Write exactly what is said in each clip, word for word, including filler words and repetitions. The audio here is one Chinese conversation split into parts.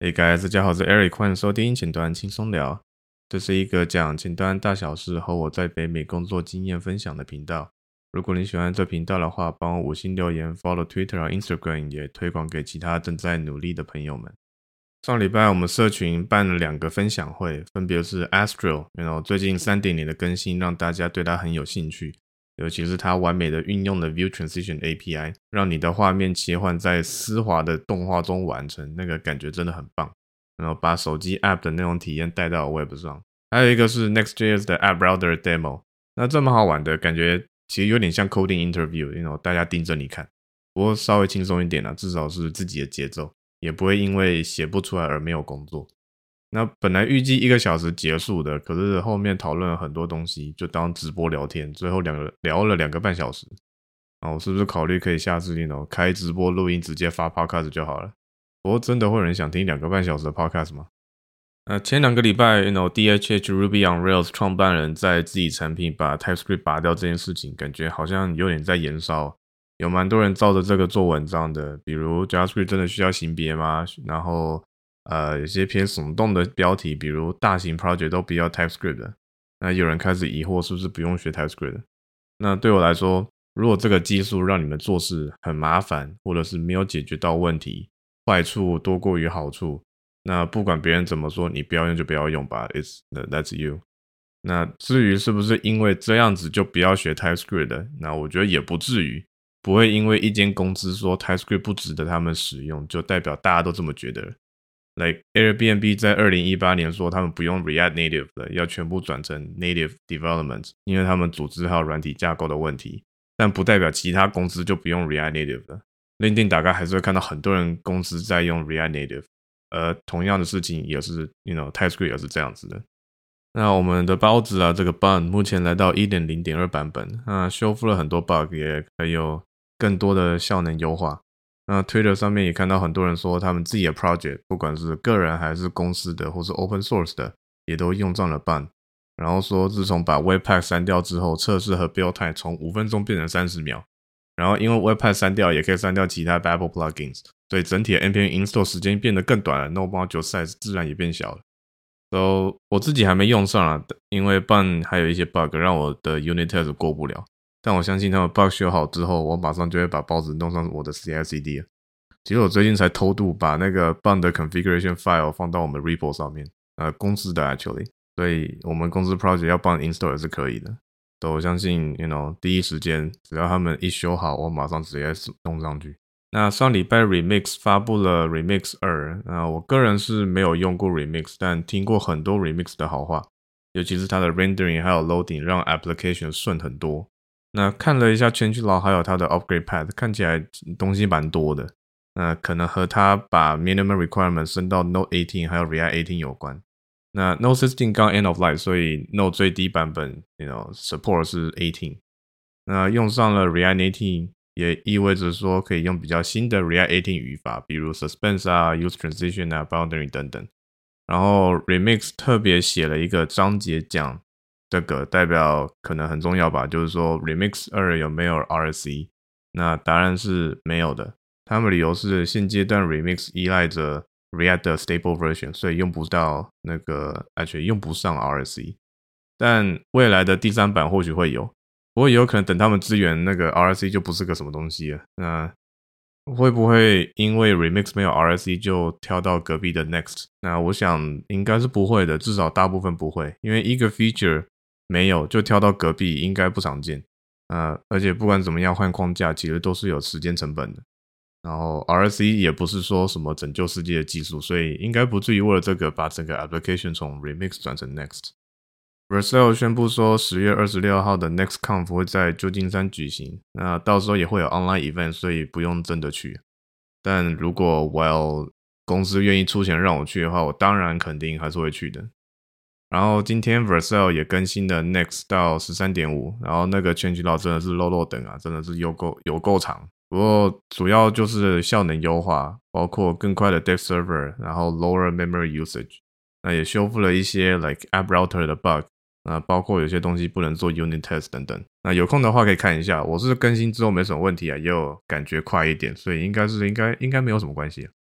Hey guys，大家好，我是 Eric， 歡迎收聽前端輕鬆聊。這是一個講前端大小事和我在北美工作經驗分享的頻道。如果你喜歡這頻道的話，幫我五星留言 ，follow Twitter 和 Instagram， 也推廣給其他正在努力的朋友們。上禮拜我們社群辦了兩個分享會，分別是 Astro， you know, 最近 三點零 的更新讓大家對它很有興趣。尤其是它完美的運用了 View Transition A P I， 讓你的畫面切換在絲滑的動畫中完成，那個感覺真的很棒。然後把手機 App 的那種體驗帶到 Web 上。還有一個是 Next.js 的 App Router Demo， 那這麼好玩的感覺，其實有點像 Coding Interview，you know, 大家盯着你看。不過稍微輕鬆一點啦，至少是自己的節奏，也不會因為寫不出來而沒有工作。那本來預計一個小時結束的，可是後面討論了很多東西，就當直播聊天，最後兩個聊了兩個半小時。啊，我是不是考慮可以下次那種開直播錄音直接發 podcast 就好了？不過真的會有人想聽兩個半小時的 podcast 嗎？呃，前兩個禮拜 you know, D H H Ruby on Rails 創辦人在自己產品把 TypeScript 拔掉這件事情，感覺好像有點在延燒。有蠻多人照着這個做文章的，比如 JavaScript 真的需要型別嗎？然後呃，有些偏聳動的標題，比如大型 project 都不要 TypeScript 的。那有人開始疑惑是不是不用學 TypeScript 的。那對我來說，如果這個技術讓你們做事很麻煩，或者是沒有解決到問題，壞處多過於好處，那不管別人怎麼說，你不要用就不要用吧。It's that's you。那至於是不是因為這樣子就不要學 TypeScript 的，那我覺得也不至於。不會因為一間公司說 TypeScript 不值得他們使用，就代表大家都這麼覺得。Like Airbnb 在二零一八年說他們不用 React Native 了，要全部轉成 Native Development， 因為他們組織還有軟體架構的問題，但不代表其他公司就不用 React Native 了。LinkedIn 打開還是會看到很多人公司在用 React Native， 而同樣的事情也是 you know, TypeScript 也是這樣子的。那我們的包子啊，這個 Bun 目前來到 一點零點二 版本，那修復了很多 bug， 也還有更多的效能優化。那 Twitter 上面也看到很多人說他們自己的 project， 不管是個人還是公司的或是 open source 的，也都用上了 Bun。然後說自從把 Webpack 刪掉之後，測試和 build time 從五分鐘變成三十秒。然後因為 Webpack 刪掉也可以刪掉其他 Babel plugins， 所以整體的 npm install 時間變得更短了， node module size 自然也變小了。So 我自己還沒用上啊，因為 Bun 還有一些 bug 讓我的 unit test 過不了。但我相信他們 bug 修好之後，我馬上就會把包子弄上我的 C I C D 了。其實我最近才偷渡把那個 Bun 的 configuration file 放到我們 repo 上面，呃，公司的 actually， 所以我們公司 project 要 Bun install 也是可以的。所以我相信 you know 第一時間只要他們一修好，我馬上直接弄上去。那上禮拜 Remix 發布了 Remix 二，那我個人是沒有用過 Remix， 但聽過很多 Remix 的好話，尤其是它的 rendering 還有 loading 讓 application 順很多。那看了一下 changelog 還有它的 upgrade path， 看起來東西蠻多的。那可能和它把 minimum requirement 升到 Node 十八還有 React 十八有關。那 Node 十六剛 end of life， 所以 Node 最低版本 you know, support 是十八。那用上了 React 十八也意味着說可以用比較新的 React 十八語法，比如 suspense 啊、use transition 啊、boundary 等等。然後 Remix 特別寫了一個章節講這個，代表可能很重要吧，就是說 Remix 二有沒有 R C？ 那答案是沒有的。他們理由是現階段 Remix 依賴着 React 的 stable version， 所以用不到那個 actually 用不上 R C。但未來的第三版或許會有，不過也有可能等他們支援那個 R C 就不是個什麼東西了。那會不會因為 Remix 沒有 R C 就跳到隔壁的 Next？ 那我想應該是不會的，至少大部分不會，因為一個 feature沒有就跳到隔壁應該不常見。呃，而且不管怎麼樣換框架其實都是有時間成本的。然後 R C 也不是說什麼拯救世界的技術，所以應該不至於為了這個把整個 application 從 Remix 轉成 Next。Vercel 宣布說十月二十六號的 NextConf 會在舊金山舉行，那到時候也會有 online event， 所以不用真的去。但如果 well 公司願意出錢讓我去的話，我當然肯定還是會去的。然後今天 Vercel 也更新了 Next 到 十三點五， 然後那個 changelog 真的是漏漏等啊，真的是有夠有夠長。不過主要就是效能優化，包括更快的 Dev Server， 然後 lower memory usage。那也修復了一些 like App Router 的 bug， 那包括有些東西不能做 unit test 等等。那有空的話可以看一下，我是更新之後沒什麼問題啊，也有感覺快一點，所以應該是應該應該沒有什麼關係啊。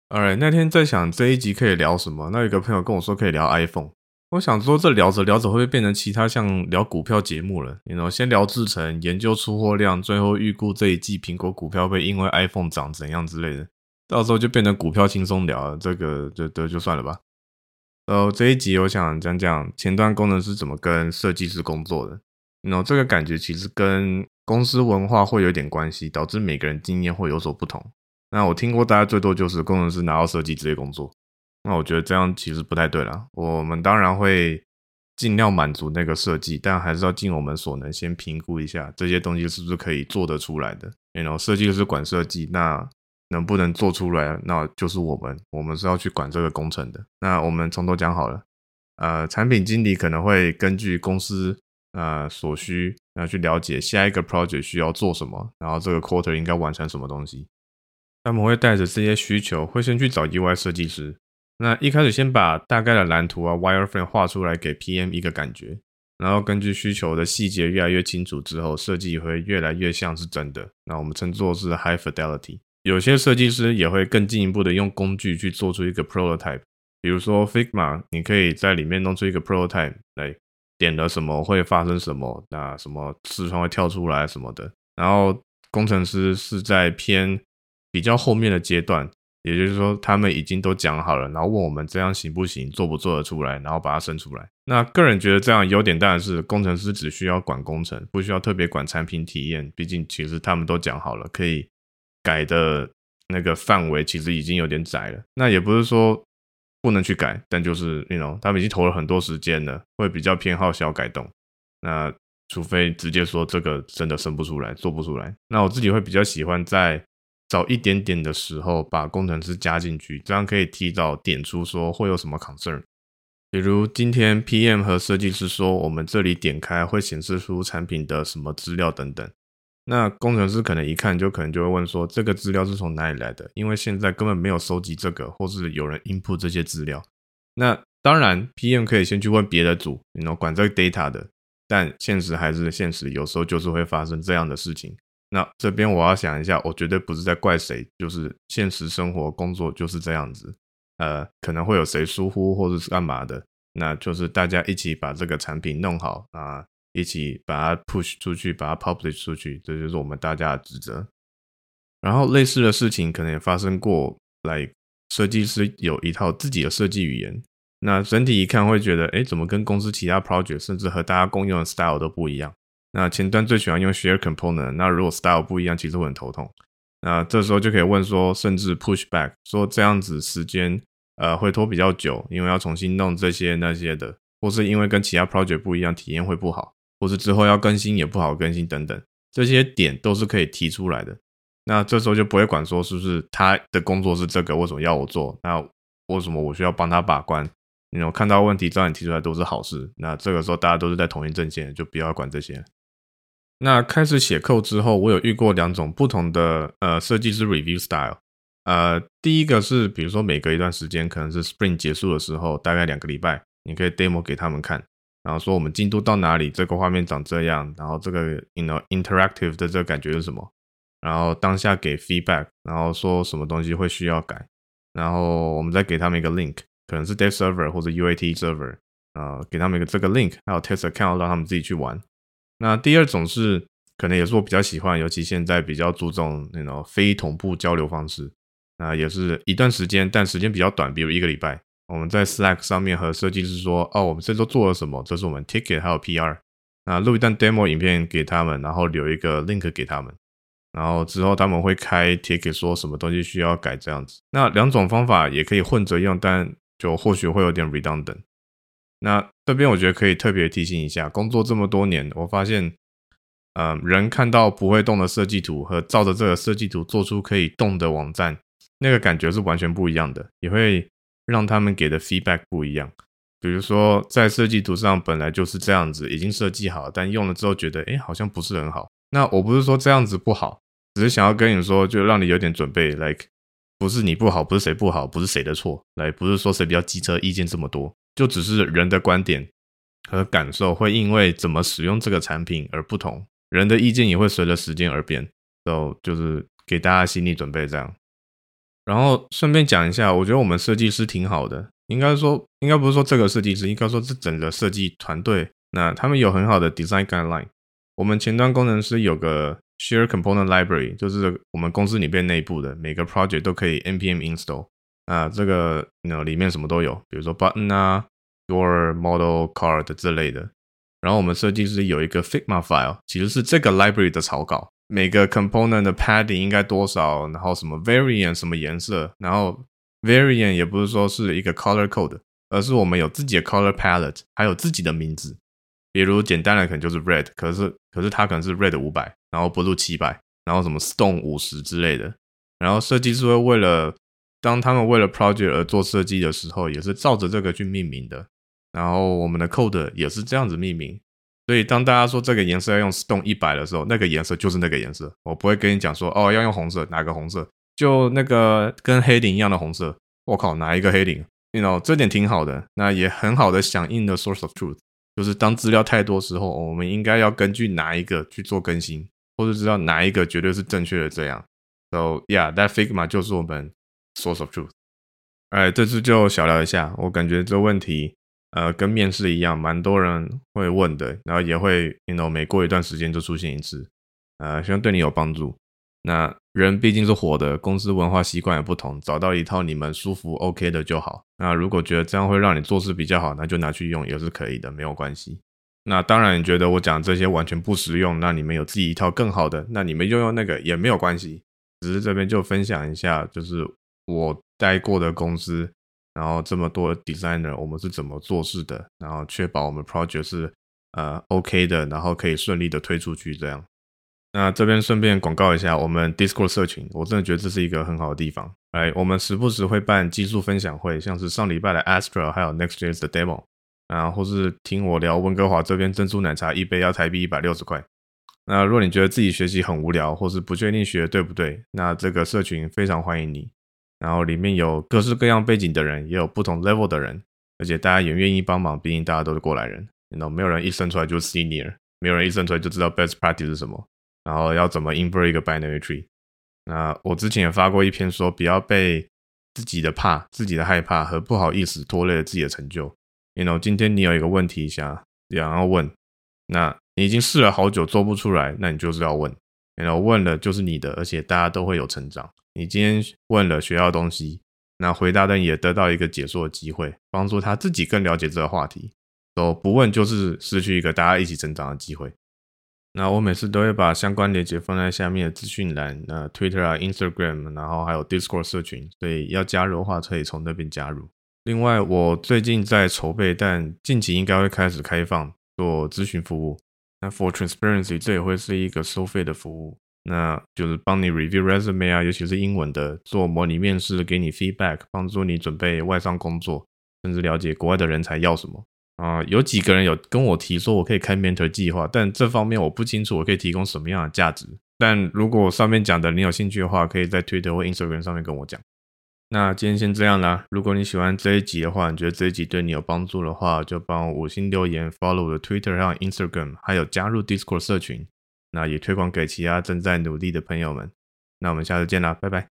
Alright，那天在想這一集可以聊什麼，那有一個朋友跟我說可以聊 iPhone， 我想說這聊着聊着會不會變成其他像聊股票節目了？你 you know, 先聊製程，研究出貨量，最後預估這一季蘋果股票會因為 iPhone 漲怎樣之類的，到時候就變成股票輕鬆聊了，這個就就就算了吧。然後這一集我想講講前端工程師怎麼跟設計師工作的，你 you know, 這個感覺其實跟公司文化會有點關係，導致每個人經驗會有所不同。那我聽過大家最多就是工程師拿到設計直接工作，那我覺得這樣其實不太對啦。我們當然會盡量滿足那個設計，但還是要盡我們所能先評估一下這些東西是不是可以做得出來的。然後設計師管設計，那能不能做出來，那就是我們，我們是要去管這個工程的。那我們從頭講好了，呃，產品經理可能會根據公司呃所需，那去了解下一個 project 需要做什麼，然後這個 quarter 應該完成什麼東西。他們會帶着這些需求，會先去找 U I 設計師。那一開始先把大概的藍圖啊 wireframe 畫出來給 P M 一個感覺，然後根據需求的細節越來越清楚之後，設計會越來越像是真的。那我們稱作是 high fidelity。有些設計師也會更進一步的用工具去做出一個 prototype， 比如說 Figma， 你可以在裡面弄出一個 prototype 來點了什麼會發生什麼，那什麼視窗會跳出來什麼的。然後工程師是在偏比較後面的階段，也就是說他們已經都講好了，然後問我們這樣行不行，做不做得出來，然後把它生出來。那個人覺得這樣優點當然是工程師只需要管工程，不需要特別管產品體驗，畢竟其實他們都講好了，可以改的那個範圍其實已經有點窄了。那也不是說不能去改，但就是 you know 他們已經投了很多時間了，會比較偏好小改動。那除非直接說這個真的生不出來，做不出來，那我自己會比較喜歡在早一點點的時候把工程師加進去，這樣可以提早點出說會有什麼 concern。比如今天 P M 和設計師說我們這裡點開會顯示出產品的什麼資料等等，那工程師可能一看就可能就會問說這個資料是從哪裡來的，因為現在根本沒有收集這個，或是有人 input 這些資料。那當然 P M 可以先去問別的組，你 you know, 管這個 data 的，但現實還是現實，有時候就是會發生這樣的事情。那這邊我要想一下，我絕對不是在怪誰，就是現實生活工作就是這樣子，呃，可能會有誰疏忽或者是幹嘛的，那就是大家一起把這個產品弄好啊，一起把它 push 出去，把它 publish 出去，這就是我們大家的職責。然後類似的事情可能也發生過，來設計師有一套自己的設計語言，那整體一看會覺得，誒，怎麼跟公司其他 project 甚至和大家共用的 style 都不一樣？那前端最喜歡用 share component， 那如果 style 不一樣，其實會很頭痛。那這時候就可以問說，甚至 push back， 說這樣子時間呃會拖比較久，因為要重新弄這些那些的，或是因為跟其他 project 不一樣，體驗會不好，或是之後要更新也不好更新等等，這些點都是可以提出來的。那這時候就不會管說是不是他的工作是這個，為什麼要我做？那為什麼我需要幫他把關？你有看到問題早點提出來都是好事。那這個時候大家都是在同一陣線，就不要管這些。那開始寫 code 之後，我有遇過兩種不同的呃設計師 review style。呃，第一個是比如說每隔一段時間，可能是 Sprint 結束的時候，大概兩個禮拜，你可以 demo 給他們看，然後說我們進度到哪裡，這個畫面長這樣，然後這個 you know interactive 的這個感覺是什麼，然後當下給 feedback， 然後說什麼東西會需要改，然後我們再給他們一個 link， 可能是 dev server 或者 U A T server， 呃，給他們一個這個 link， 還有 test account 讓他們自己去玩。那第二種是可能也是我比較喜歡，尤其現在比較注重那種非同步交流方式，那也是一段時間，但時間比較短，比如一個禮拜，我們在 Slack 上面和設計師說，哦，我們這周做了什麼，這是我們 ticket 還有 P R， 那錄一段 demo 影片給他們，然後留一個 link 給他們，然後之後他們會開 ticket 說什麼東西需要改這樣子。那兩種方法也可以混着用，但就或許會有點 redundant。那這邊我覺得可以特別提醒一下，工作這麼多年，我發現，呃，人看到不會動的設計圖和照着這個設計圖做出可以動的網站，那個感覺是完全不一樣的，也會讓他們給的 feedback 不一樣。比如說，在設計圖上本來就是這樣子，已經設計好，但用了之後覺得，誒，好像不是很好。那我不是說這樣子不好，只是想要跟你說，就讓你有點準備 ，like 不是你不好，不是誰不好，不是誰的錯，來，不是說誰比較機車，意見這麼多。就只是人的觀點和感受會因為怎麼使用這個產品而不同，人的意見也會隨着時間而變，so, 就是給大家心理準備這樣。 然後順便講一下，我覺得我們設計師挺好的，應該說，應該不是說這個設計師，應該說這整個設計團隊，那他們有很好的 design guideline。我們前端工程師有個 share component library，就是我們公司裡面內部的每個 project 都可以 npm install。啊，這個 you know, 裡面什麼都有，比如說 button 啊、door、model、card 之類的。然後我們設計師有一個 Figma file， 其實是這個 library 的草稿。每個 component 的 padding 應該多少，然後什麼 variant 什麼顏色，然後 variant 也不是說是一個 color code， 而是我們有自己的 color palette， 還有自己的名字。比如簡單的可能就是 red， 可是可是它可能是 red 五百，然後 blue 七百，然後什麼 stone 五十之類的。然後設計師會為了當他們為了 project 而做設計的時候，也是照着這個去命名的。然後我們的 code 也是這樣子命名。所以當大家說這個顏色要用 stone 一百的時候，那個顏色就是那個顏色。我不會跟你講說哦要用紅色，哪個紅色？就那個跟黑領一樣的紅色。我靠，哪一個黑領 you know 這點挺好的。那也很好的響應的 source of truth， 就是當資料太多時候，我們應該要根據哪一個去做更新，或者知道哪一個絕對是正確的這樣。So yeah, that Figma 就是我們 source of truth。哎，這次就小聊一下，我感覺這問題呃，跟面試一樣，蠻多人會問的，然後也會 you know 每過一段時間就出現一次，呃，希望對你有幫助。那人畢竟是活的，公司文化習慣也不同，找到一套你們舒服 OK 的就好。那如果覺得這樣會讓你做事比較好，那就拿去用也是可以的，沒有關係。那當然，你覺得我講這些完全不實用，那你們有自己一套更好的，那你們用用那個也沒有關係。只是這邊就分享一下，就是我待過的公司，然後這麼多 designer 我們是怎麼做事的，然後確保我們 project 是呃 OK 的，然後可以順利的推出去這樣。那這邊順便廣告一下我們 Discord 社群，我真的覺得這是一個很好的地方。來，我們時不時會辦技術分享會，像是上禮拜的 Astra 還有 Next.js 的 demo， 啊，或是聽我聊溫哥華這邊珍珠奶茶一杯要台幣一百六十塊。那如果你覺得自己學習很無聊，或是不確定學的對不對，那這個社群非常歡迎你。然後裡面有各式各樣背景的人，也有不同 level 的人，而且大家也願意幫忙，畢竟大家都是過來人。You know, 沒有人一生出來就是 senior， 沒有人一生出來就知道 best practice 是什麼，然後要怎麼 invert 一個 binary tree。那我之前也發過一篇說，不要被自己的怕、自己的害怕和不好意思拖累了自己的成就。You know, 今天你有一個問題想想要問，那你已經試了好久做不出來，那你就是要問。You know, 問了就是你的，而且大家都會有成長。你今天問了學到東西，那回答的人也得到一個解說的機會，幫助他自己更了解這個話題。所以不問就是失去一個大家一起成長的機會。那我每次都會把相關鏈接放在下面的資訊欄，那 Twitter 啊、Instagram， 然後還有 Discord 社群，所以要加入的話可以從那邊加入。另外，我最近在籌備，但近期應該會開始開放做諮詢服務。那 For Transparency， 這也會是一個收費的服務。那就是幫你 review resume 啊，尤其是英文的，做模擬面試，給你 feedback， 幫助你準備外商工作，甚至了解國外的人才要什麼啊、呃。有幾個人有跟我提說我可以開 mentor 計劃，但這方面我不清楚我可以提供什麼樣的價值。但如果上面講的你有興趣的話，可以在 Twitter 或 Instagram 上面跟我講。那今天先這樣啦，如果你喜歡這一集的話，你覺得這一集對你有幫助的話，就幫我五星留言 follow 我的 Twitter 還有 Instagram， 還有加入 Discord 社群。那也推廣給其他正在努力的朋友們。那我們下次見啦，拜拜。